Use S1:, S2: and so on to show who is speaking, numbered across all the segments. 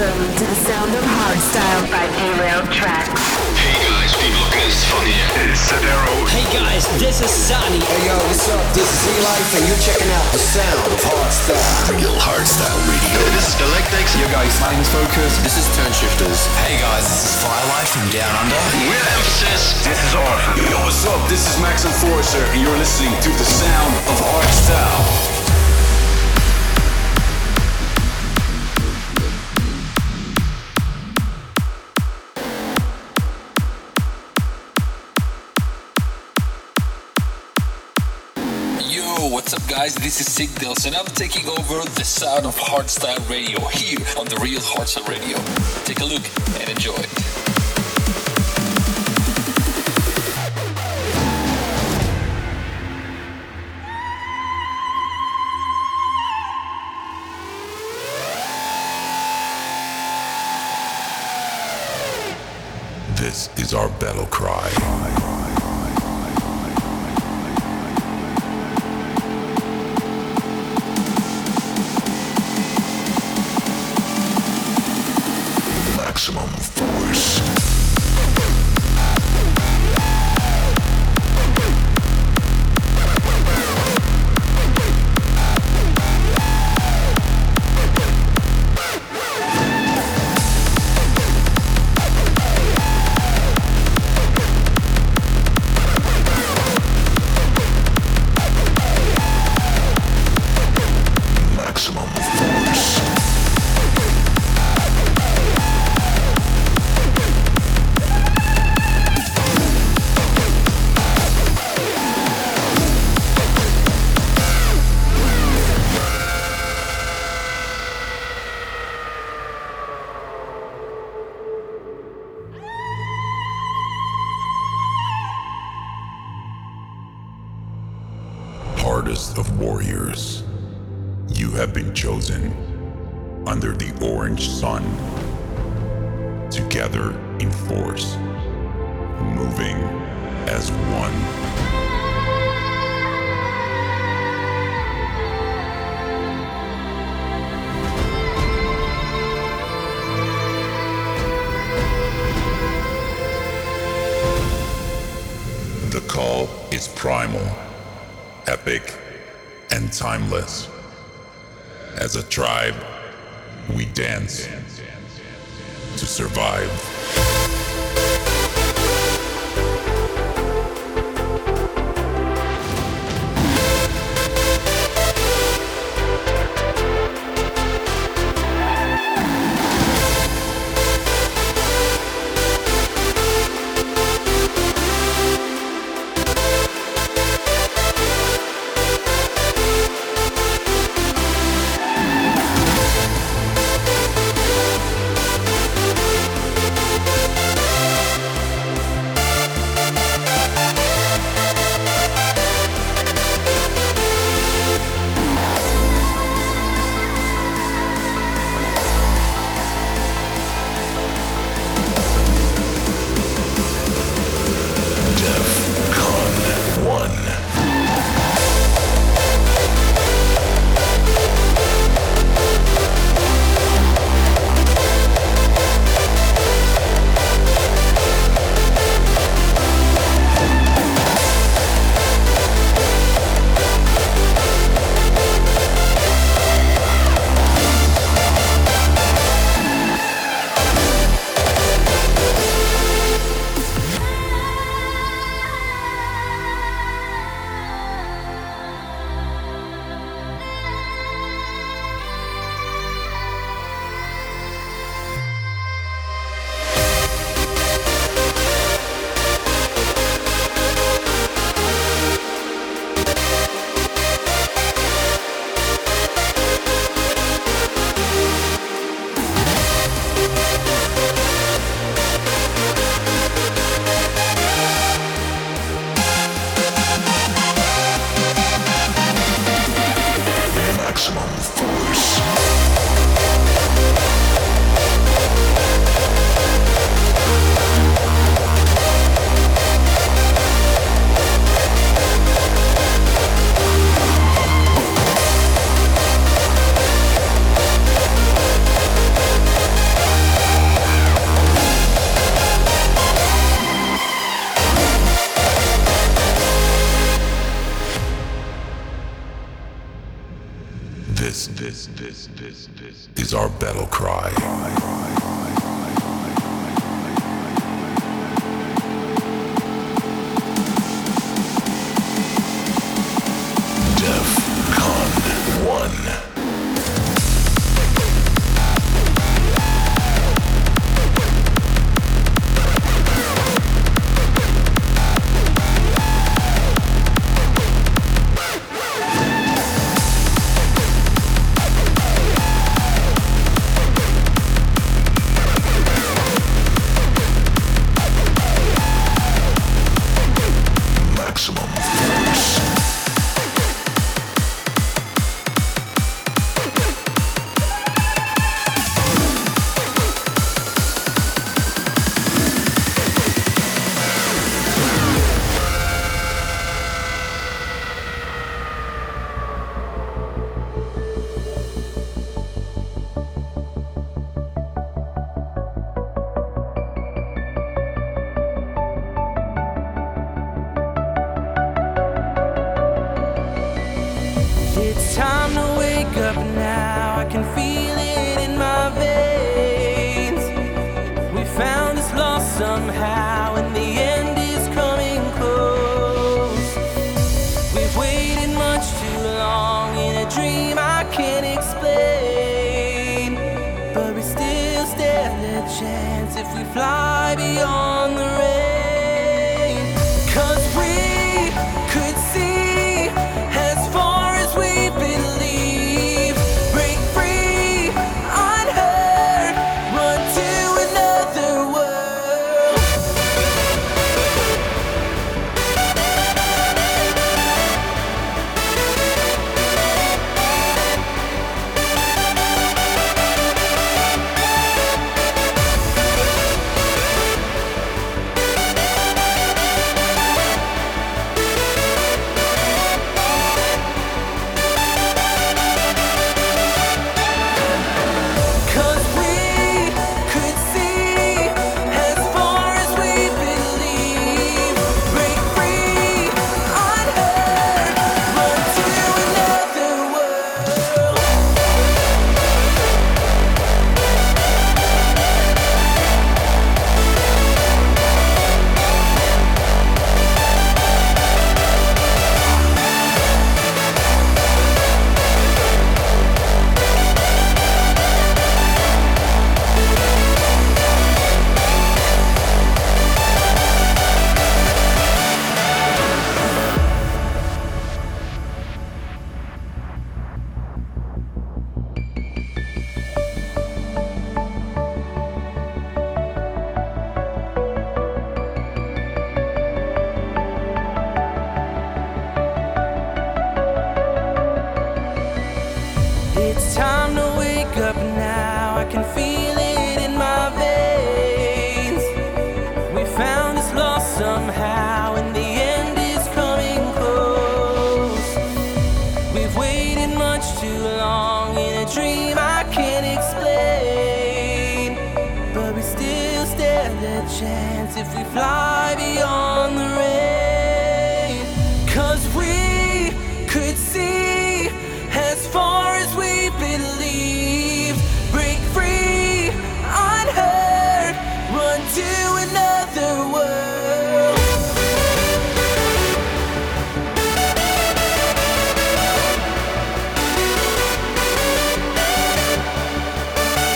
S1: Welcome to the sound of hardstyle by Derailed Tracks.
S2: Hey guys, people, this is Funny. It's Sadero.
S3: Hey guys, this is Sunny.
S4: Hey yo, what's up? This is E-Life and you're checking out the sound of hardstyle.
S2: Real hardstyle radio. This is Galactics.
S5: Yo guys, my name is Focus.
S4: This is Turnshifters.
S6: Hey guys, this is Firelight from Down Under.
S2: With emphasis. This is Orphan.
S5: Yo, what's up? This is Max Enforcer and you're listening to the sound of hardstyle.
S7: What's up guys, this is Sigdales and I'm taking over the sound of hardstyle radio here on the Real Hardstyle Radio. Take a look and enjoy.
S8: This is our battle cry. Maximum force. Hardest of warriors, you have been chosen under the orange sun, together in force, moving as one. The call is primal, epic, and timeless. As a tribe, we dance to survive. is our battle cry. DEFCON 1.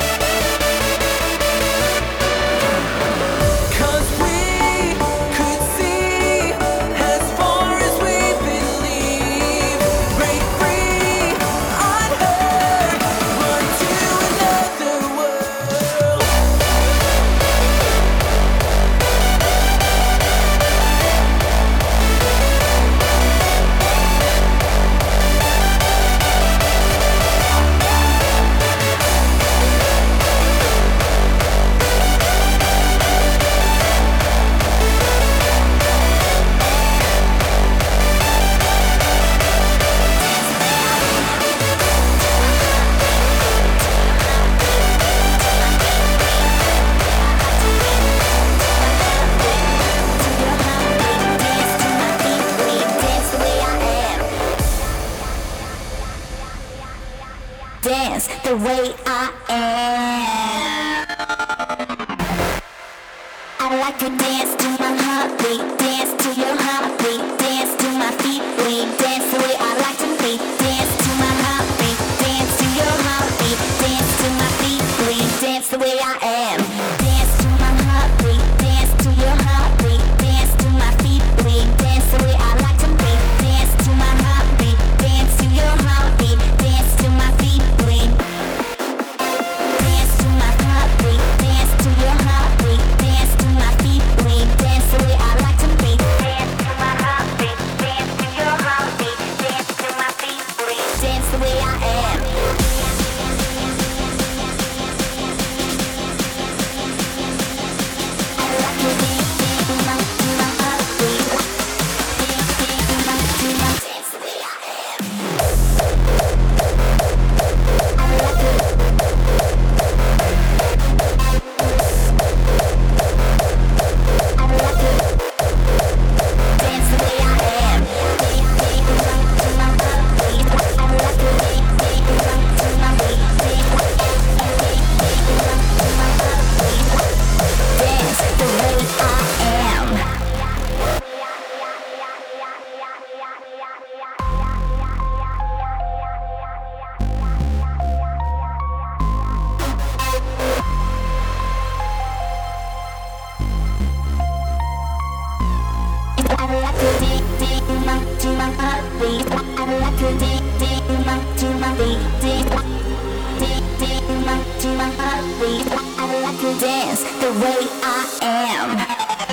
S9: Could dance the way I am. I like to dance to my heartbeat, dance to your heartbeat, dance to my feet, bleed, dance the way I like to be. Dance to my heartbeat, dance to your heartbeat, dance to my feet, bleed, dance the way I am. Dance to my heartbeat, dance to your heartbeat, dance to my feet, bleed, dance the way I like to be. Dance to my heartbeat, dance to your heartbeat, dance to my feet, bleed. Dance to my heartbeat, dance to your heartbeat, dance to my feet, bleed, dance the way I like to be. Dance to my heartbeat, dance to your heartbeat, dance to my feet, bleed, dance the way I am. Dance the way I am.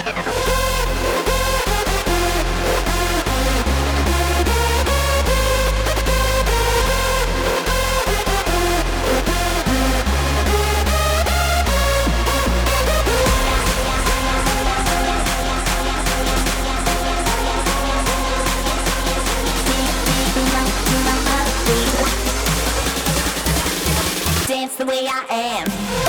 S9: Dance the way I am.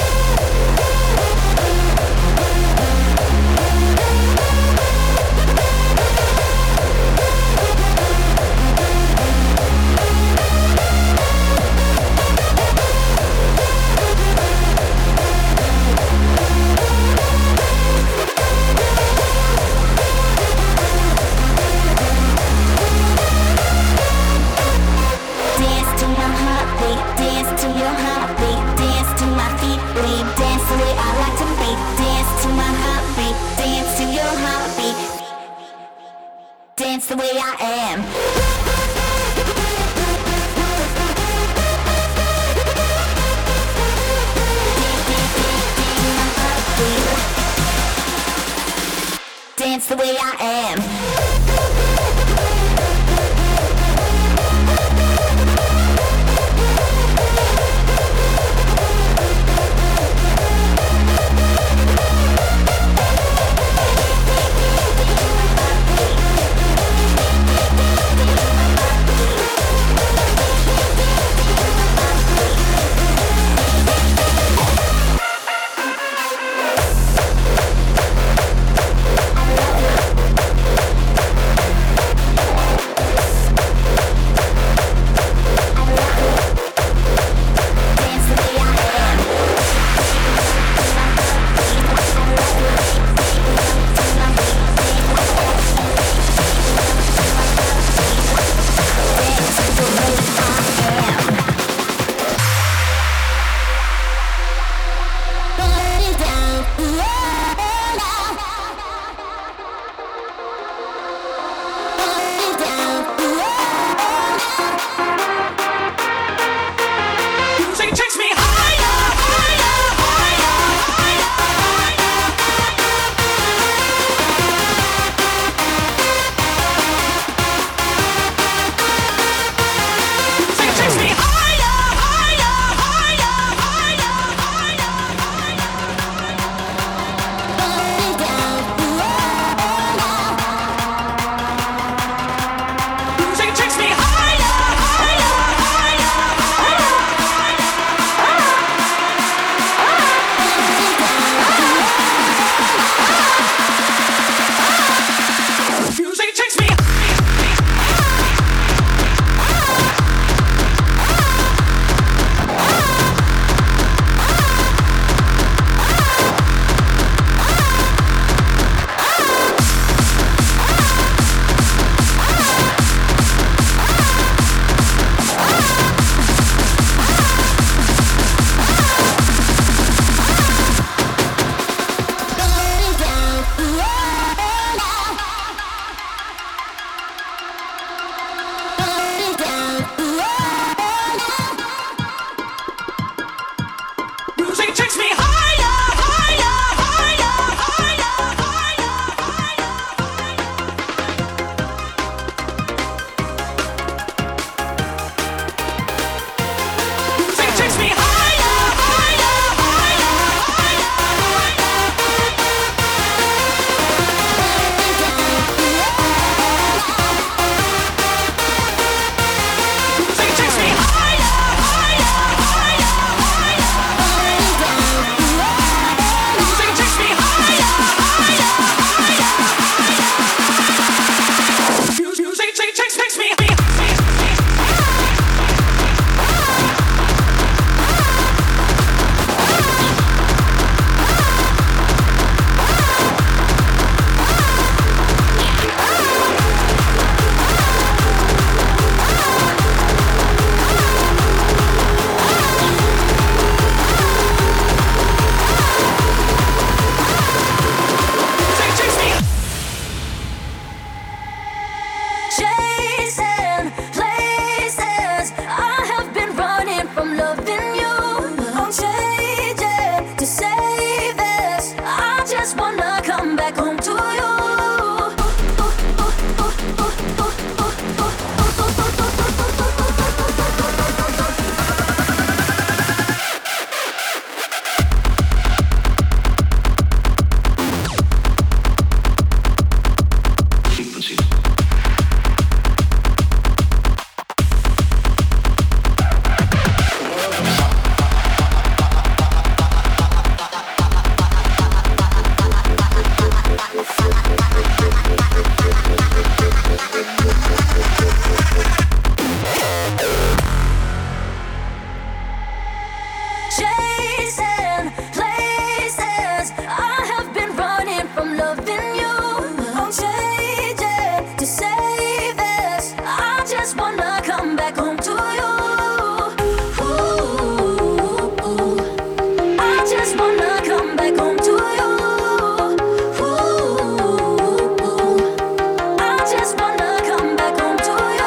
S9: Dance to my heartbeat, dance to your heartbeat, dance to my feet, bleed, dance the way I like to be. Dance to my heartbeat, dance to your heartbeat, dance the way I am. Dance the way I am. chasing places. I have been running from loving you. I'm changing to save this. I just wanna come back home to you. Ooh, I just wanna come back home to you. Ooh, I just wanna come back home to you.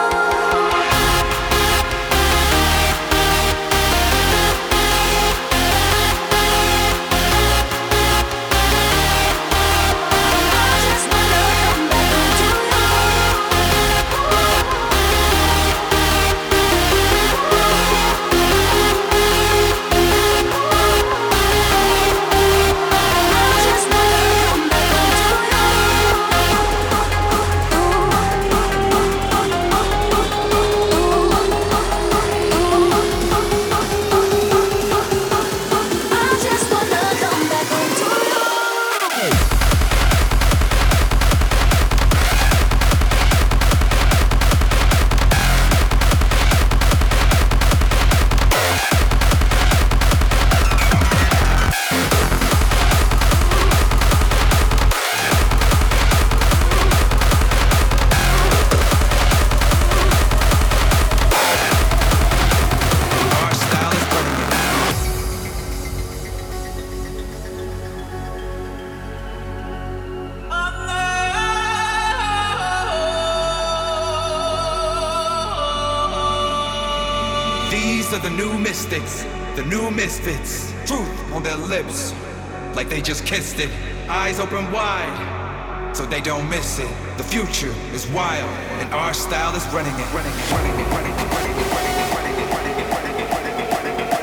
S10: These are the new mystics, the new misfits. Truth on their lips, like they just kissed it. Eyes open wide, so they don't miss it. The future is wild, and our style is running it. Running it, running it, running it, running it, running it, running it, running it, running it, running it, running it.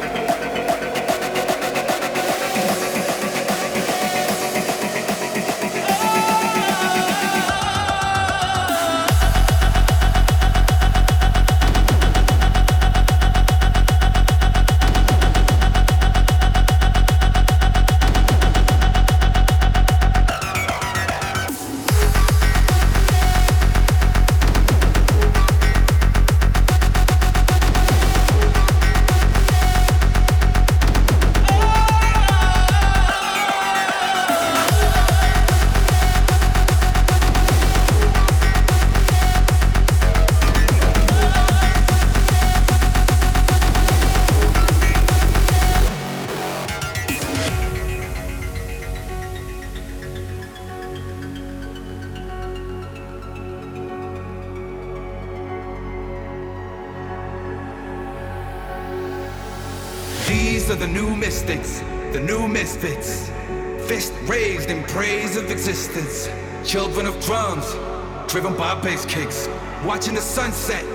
S10: These are the new mystics, the new misfits. Fist raised in praise of existence. Children of drums, driven by bass kicks. Watching the sunset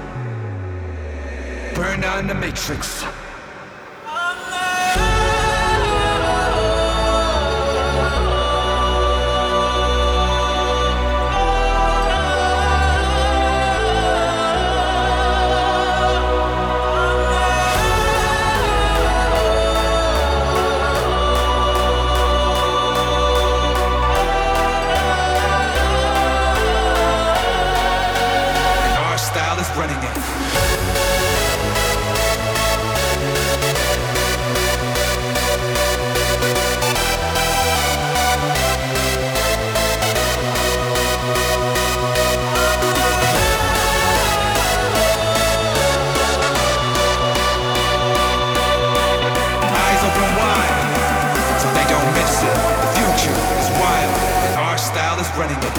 S10: burn down the matrix. Running it. Eyes open wide, so they don't miss it. The future is wild, and our style is running it.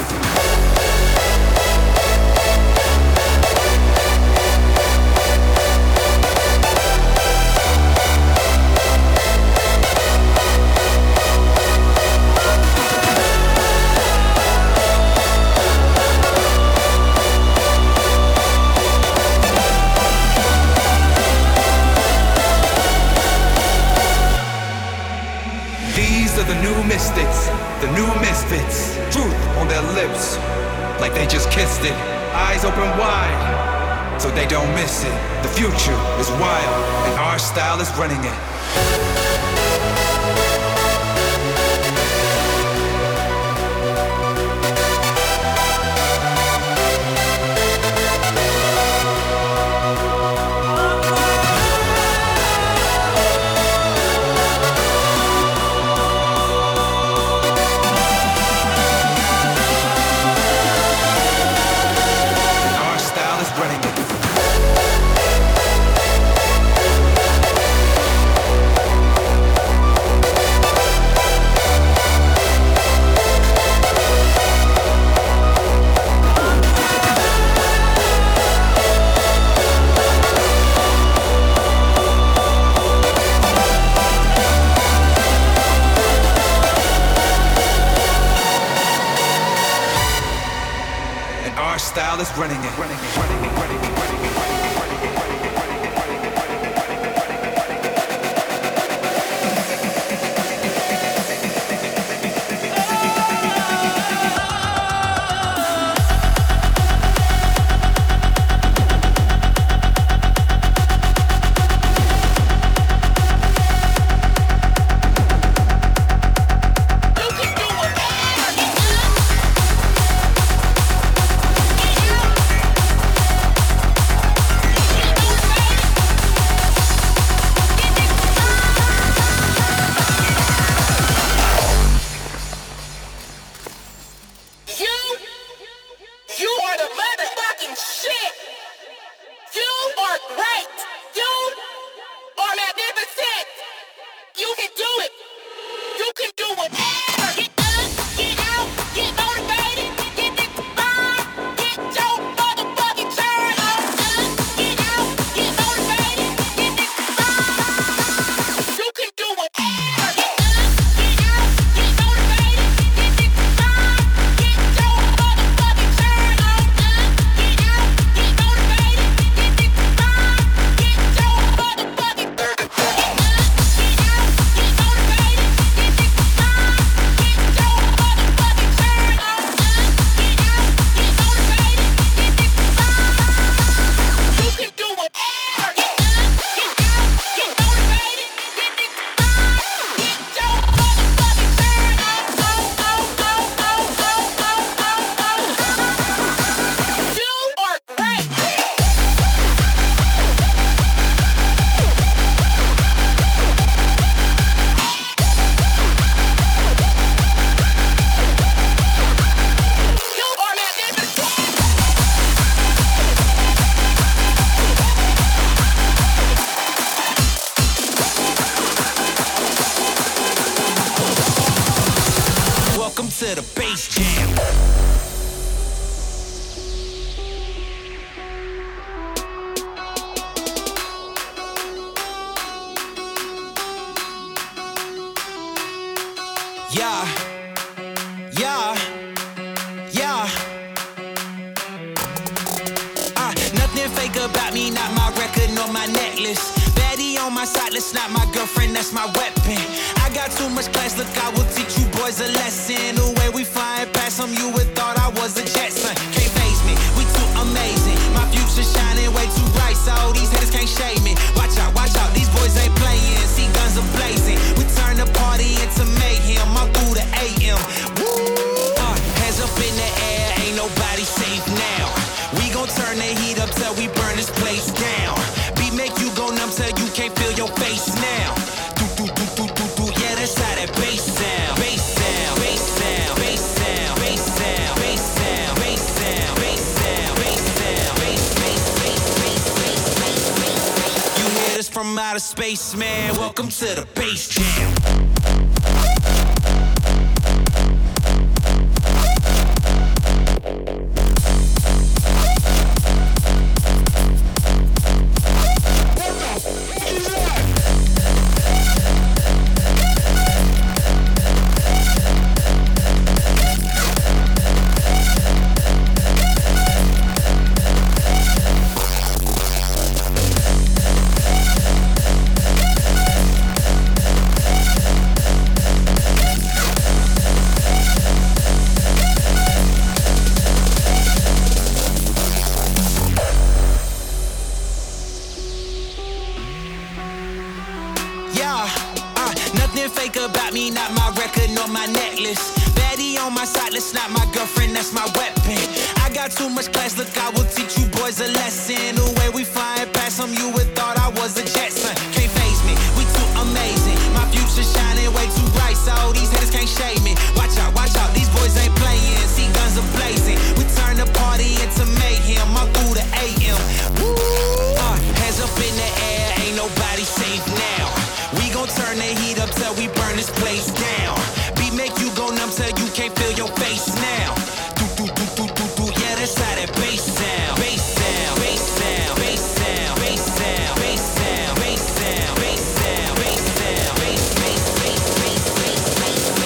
S10: These are the new mystics, the new misfits. Truth on their lips, like they just kissed it. Eyes open wide, so they don't miss it. The future is wild, and our style is running it. fellas running it.
S3: To the bass jam. Yeah, yeah, yeah. Nothing fake about me, not my record nor my necklace. Baddie on my side, that's not my girlfriend, that's my weapon. I got too much class, look, I will teach you boys a lesson. The way we flying past them, you would thought I was a Jetson. Can't phase me, we too amazing. My future shining way too bright, so these haters can't shade me. Watch out, these boys ain't playing. See guns are blazing. We turn the party into mayhem. I'm through the AM. Woo! Hands up in the air, ain't nobody safe now. We gon' turn the heat up till we burn this place down. Beat make you go numb till you can't feel your face now. Yeah, that's how that bass sound. Bass sound, bass sound, bass sound, bass sound, bass sound, bass sound, bass sound, bass sound, bass. You hear this from outer space, man. Welcome to the bass jam. Fake about me, not my record nor my necklace. Baddie on my side, that's not my girlfriend, that's my weapon. I got too much class, look, I will teach you boys a lesson. The way we flying past them, you would thought I was a Jetson. Can't phase me, we too amazing. My future shining way too bright, so these haters can't shade me. Watch out, these boys ain't playing. See guns are blazing. We turn the party into mayhem. I'm through the AM. Woo! Hands up in the air, ain't nobody safe now. We gon' turn the heat up till we burn this place down. Beat make you go numb till you can't feel your face now. Yeah, that's how that bass sound. Bass sound, bass sound, bass sound, bass sound, bass sound, bass sound, bass sound, bass sound,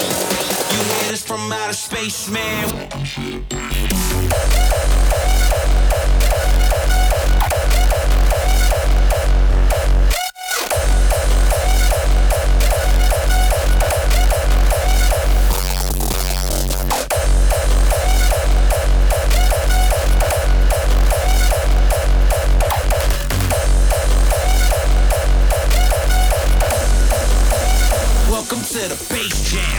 S3: bass. You hear this from outer space, man. to the bass jam.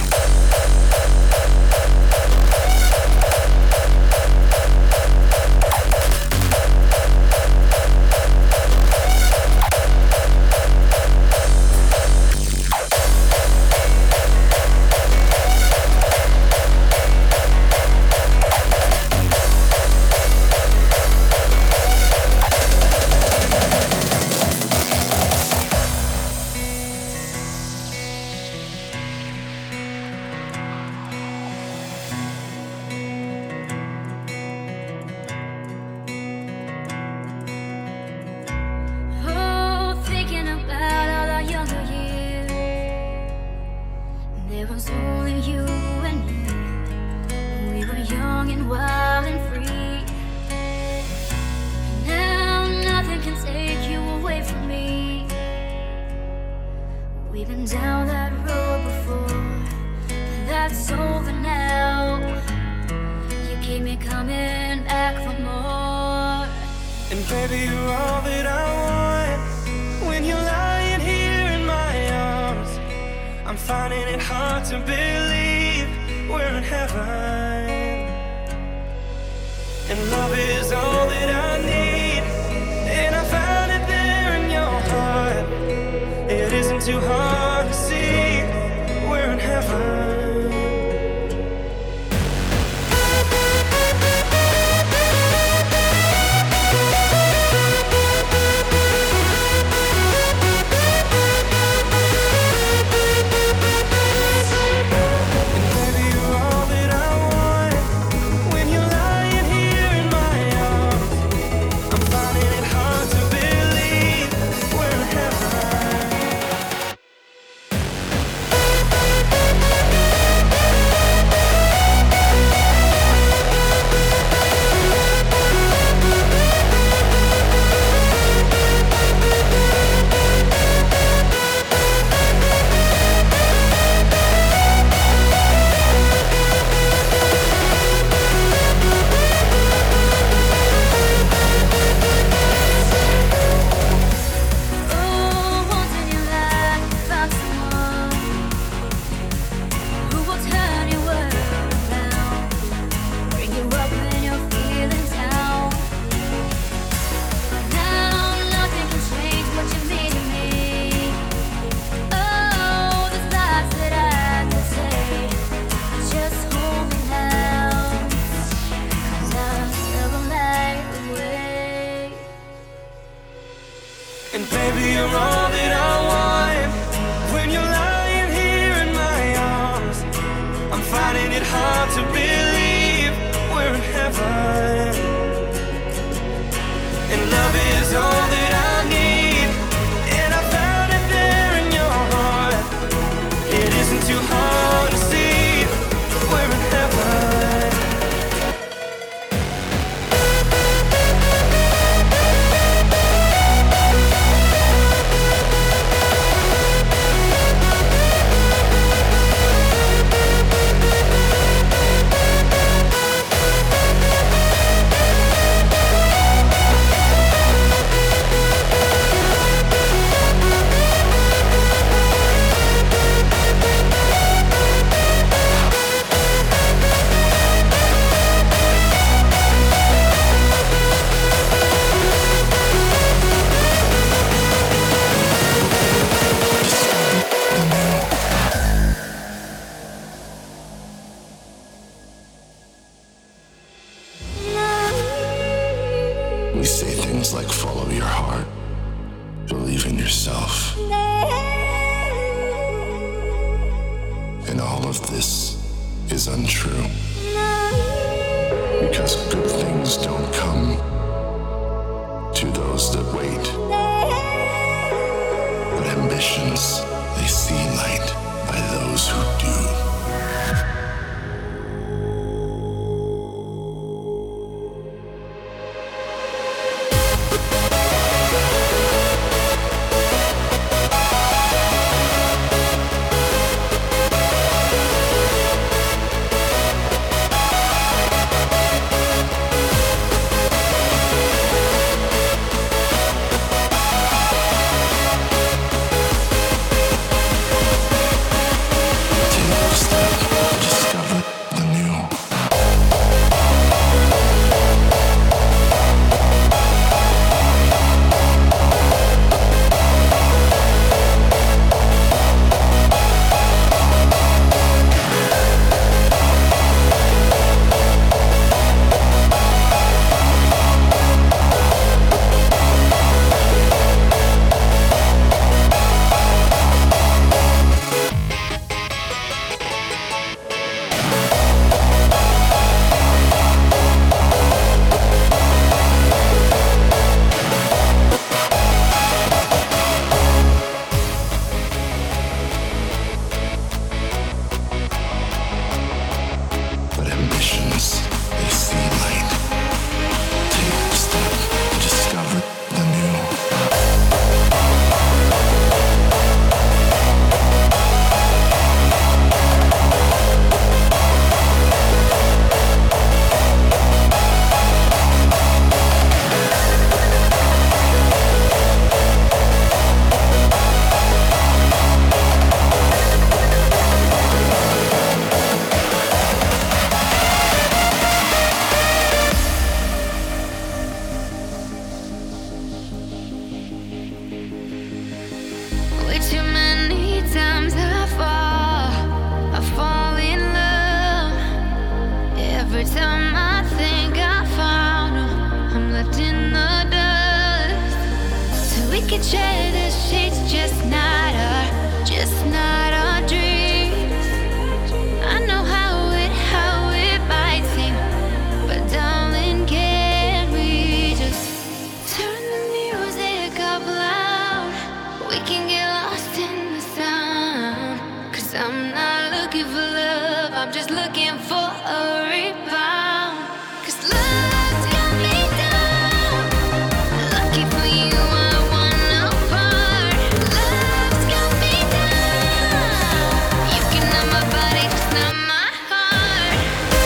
S9: time I think I found her, I'm left in the dust. So we could share the sheets, just not our dreams. I know how it might seem, but darling, can we just turn the music up loud? We can get lost in the sound. 'Cause I'm not looking for love, I'm just looking for a rebound. 'Cause love's got me down. Lucky for you, I want no part. Love's got me down. You can have my body, just not my heart.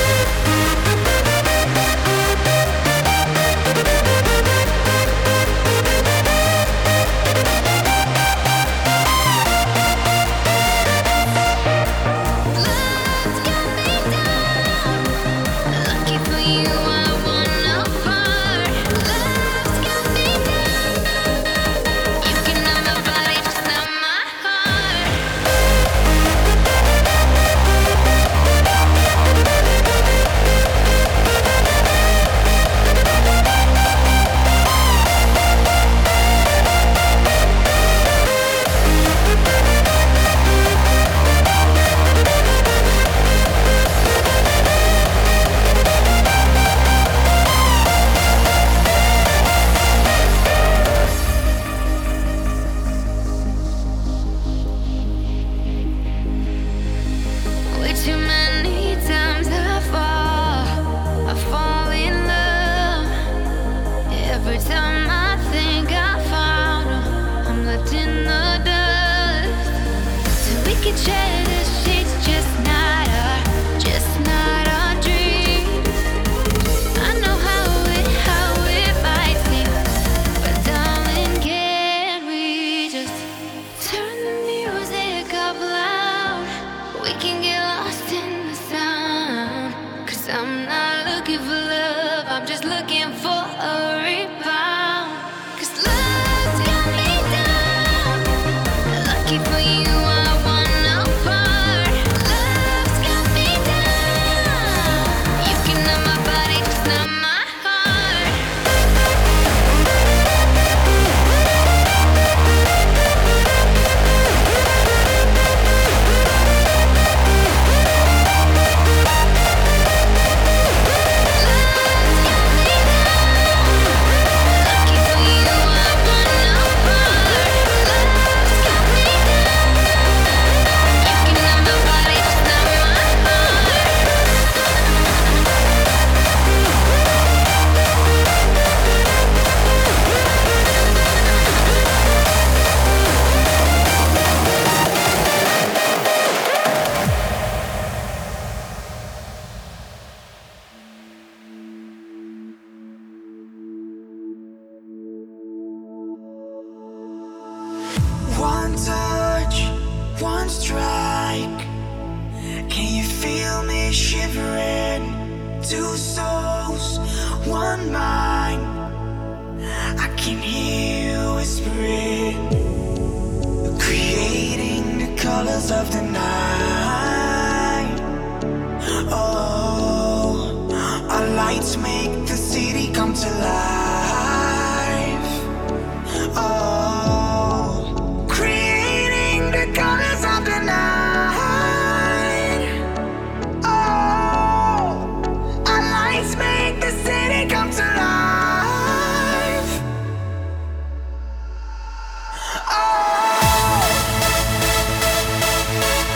S9: Love's got me down. Lucky for you, I want no part. Love's got me down. You can have my body, just not my heart. Way too many times I fall in love. Every time I think I found her, I'm left in the dust. So we could share the sheets, just not our dreams. I know how it might seem, but darling, can we just turn the music up loud? We can get lost in the sound. 'Cause I'm not looking for love, I'm just looking for a rebound. 'Cause love's got me down. Lucky for you, I want no part. Love's got me down. You can have my body, just not my heart. Lucky for you, I want no part. Love's got me down. You can have my body, just not my heart.
S3: One touch, one strike. Can you feel me shivering? Two souls, one mind. I can hear you whispering, creating the colors of the night. Oh, our lights make the city come to life. Oh, creating the colors of the night. Oh, our lights make the city come to life. Oh.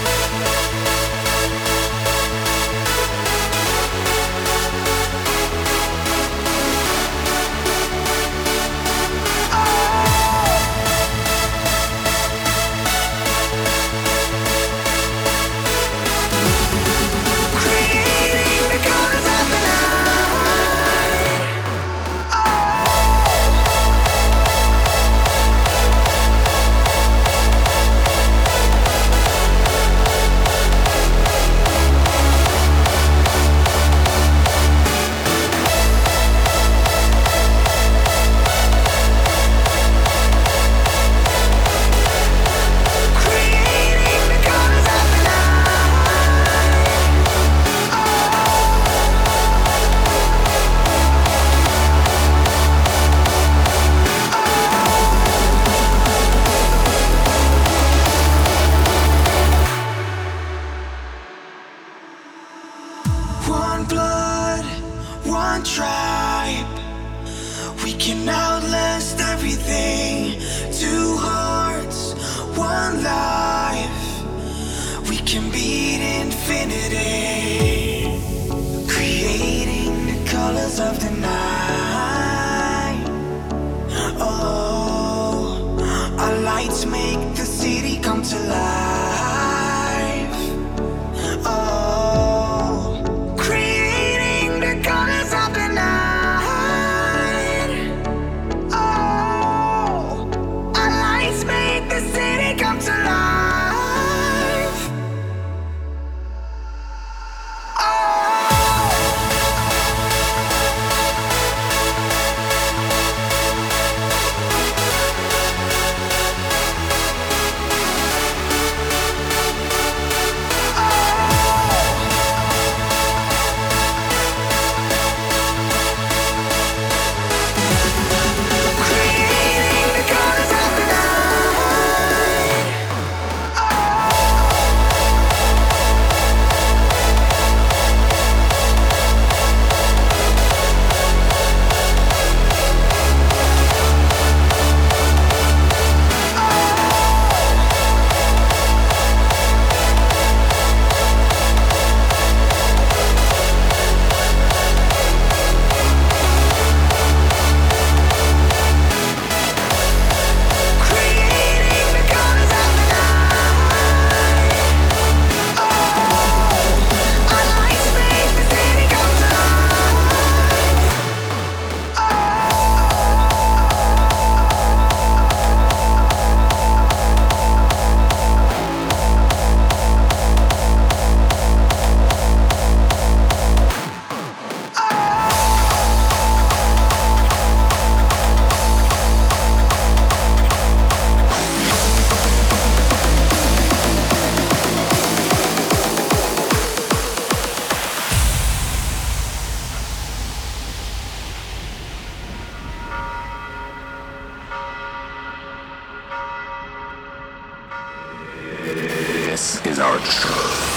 S8: This is our church.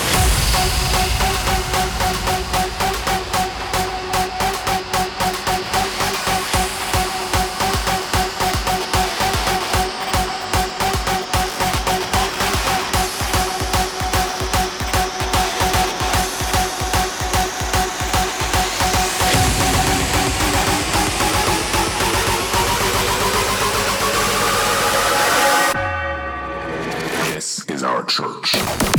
S8: Church.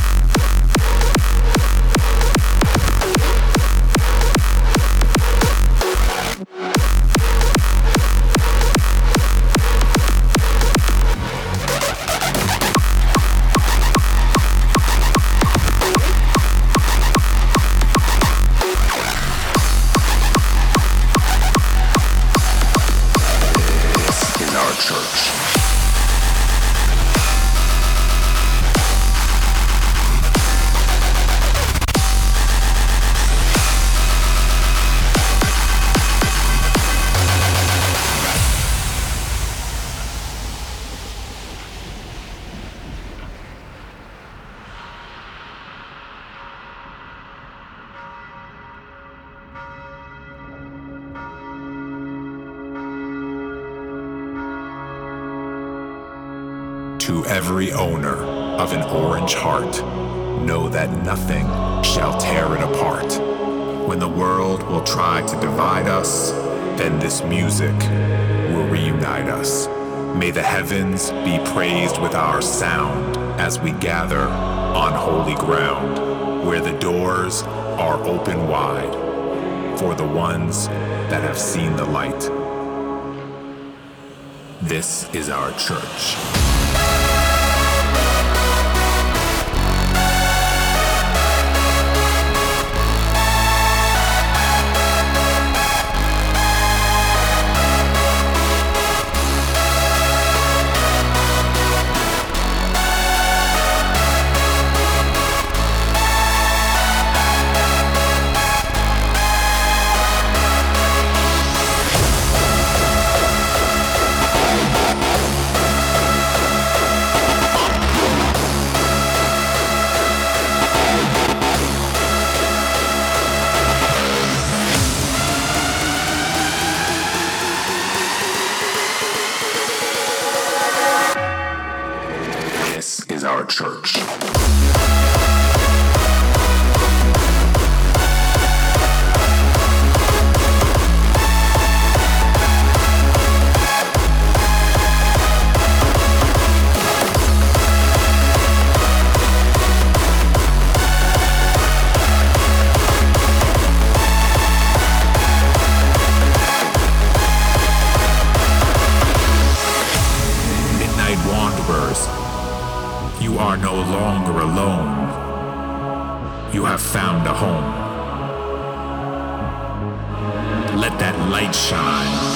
S8: To every owner of an orange heart, know that nothing shall tear it apart. When the world will try to divide us, then this music will reunite us. May the heavens be praised with our sound as we gather on holy ground, where the doors are open wide for the ones that have seen the light. This is our church. Our church. Midnight wanderers, you are no longer alone. You have found a home. Let that light shine.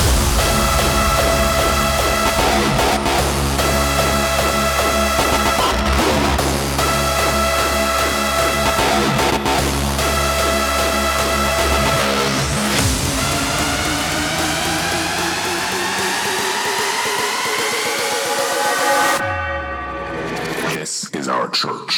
S8: This is our church.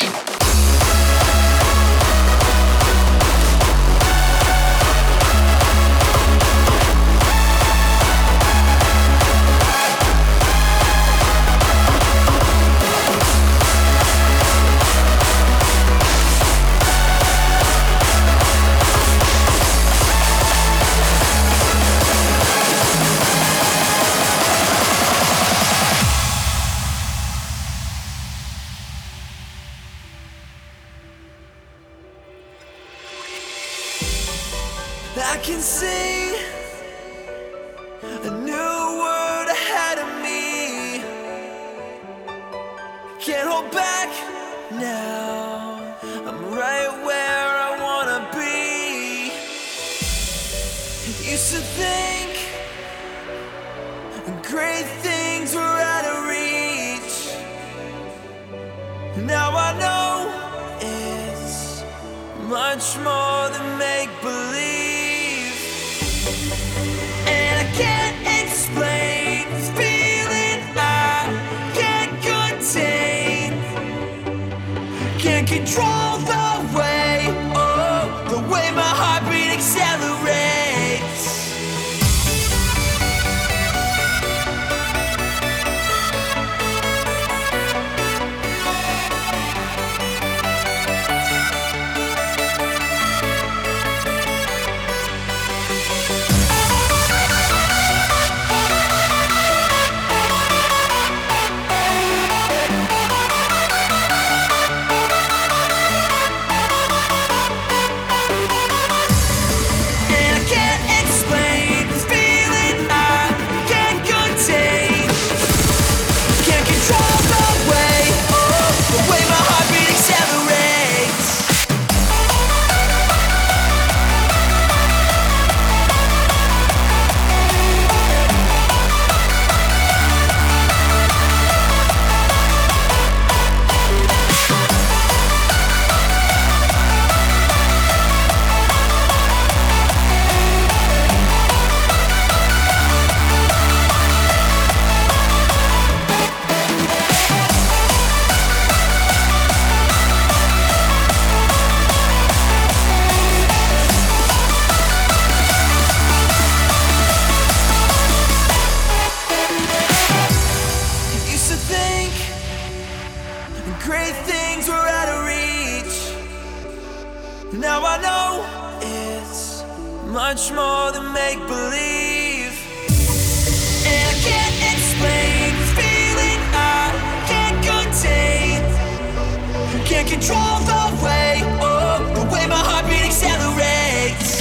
S3: I can see a new world ahead of me. Can't hold back now. I'm right where I wanna be. Used to think great things were out of reach. Now I know it's much more than make-believe. And I can't explain this feeling I can't contain. Can't control the way, oh, the way my heartbeat accelerates. Much more than make-believe. And I can't explain the feeling I can't contain. Can't control the way, oh, the way my heartbeat accelerates.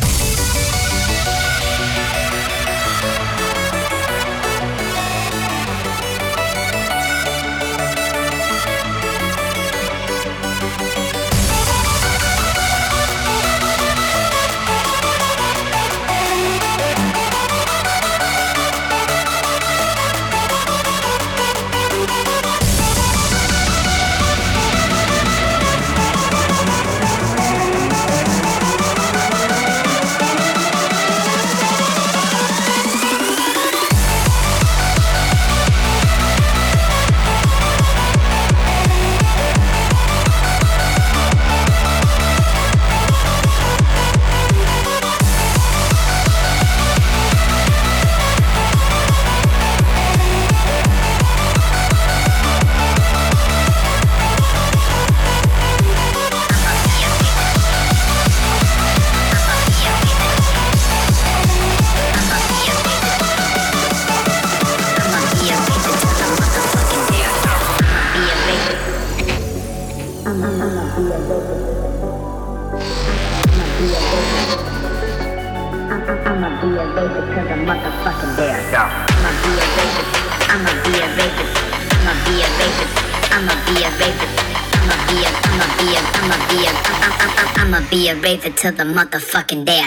S9: Be a raver till the motherfucking day.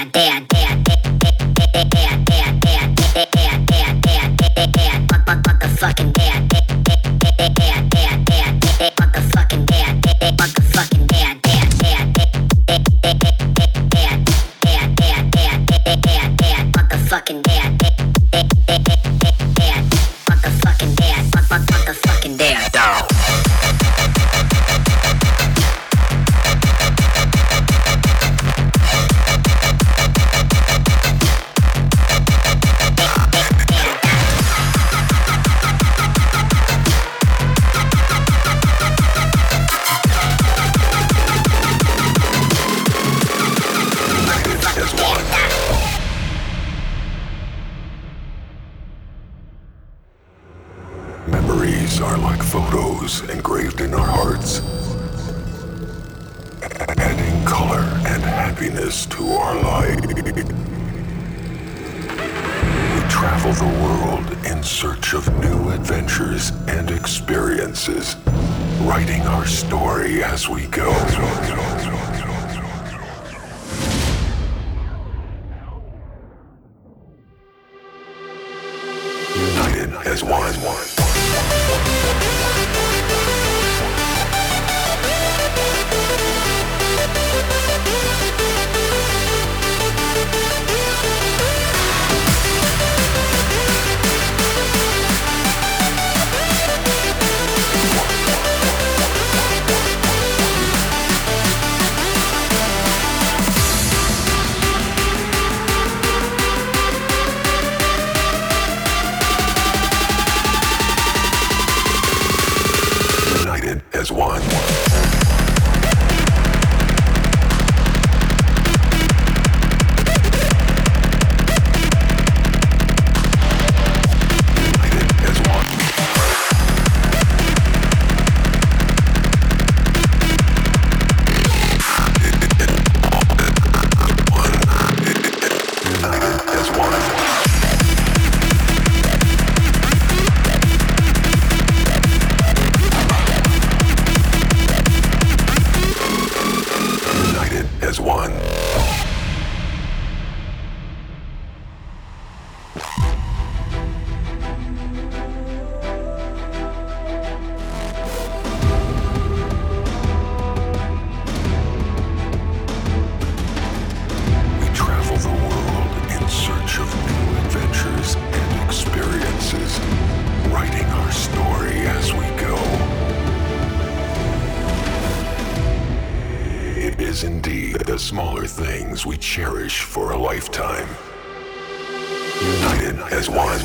S9: Motherfucking day. Motherfucking day. Motherfucking day. Motherfucking day. Motherfucking day. Motherfucking day.
S8: Memories are like photos engraved in our hearts, adding color and happiness to our life. We travel the world in search of new adventures and experiences, writing our story as we go. United as one. as one. We cherish for a lifetime. United as one.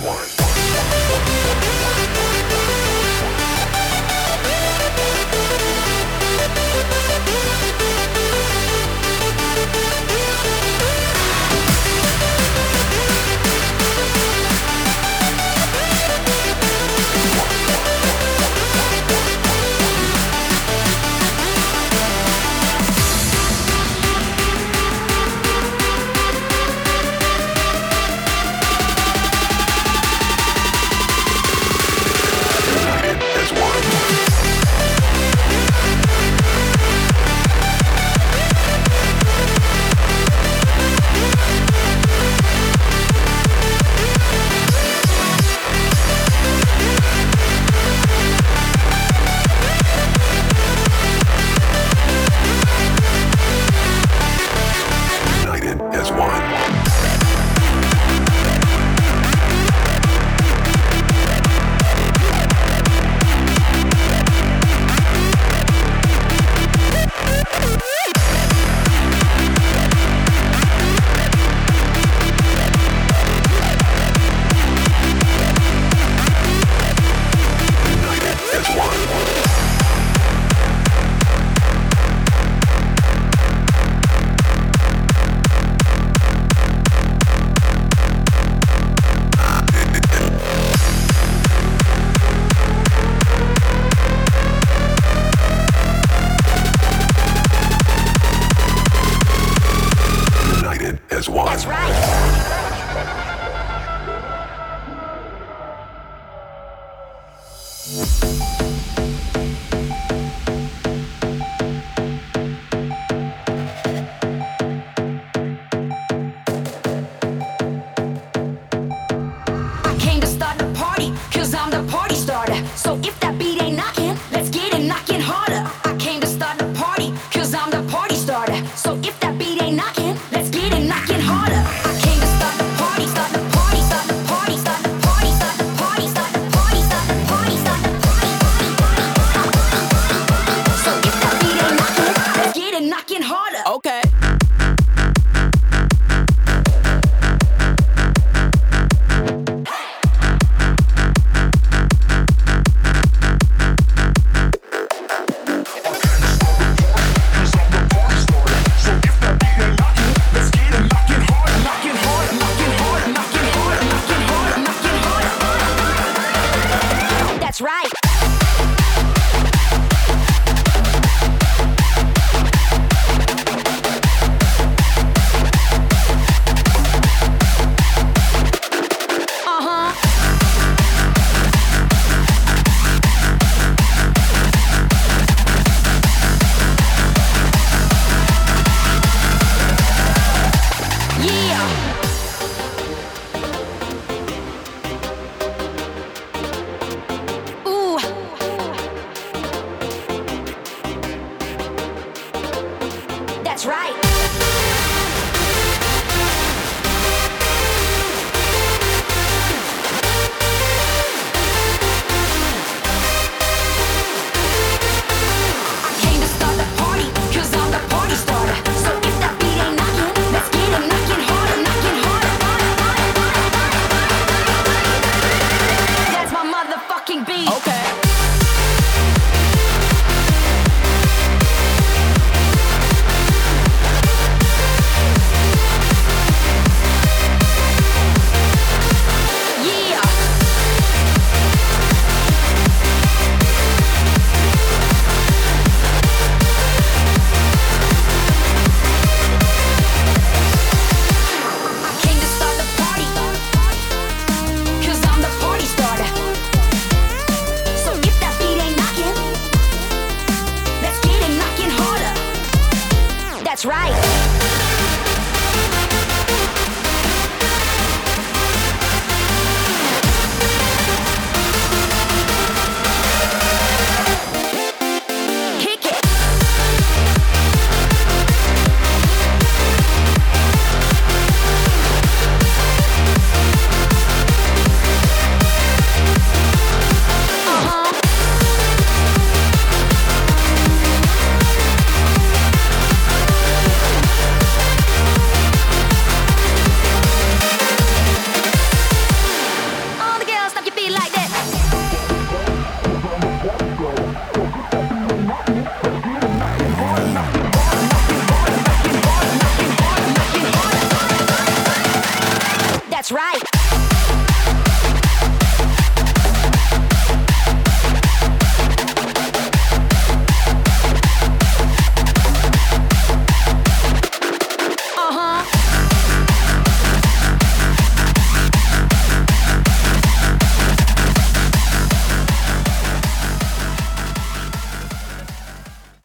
S9: That's right.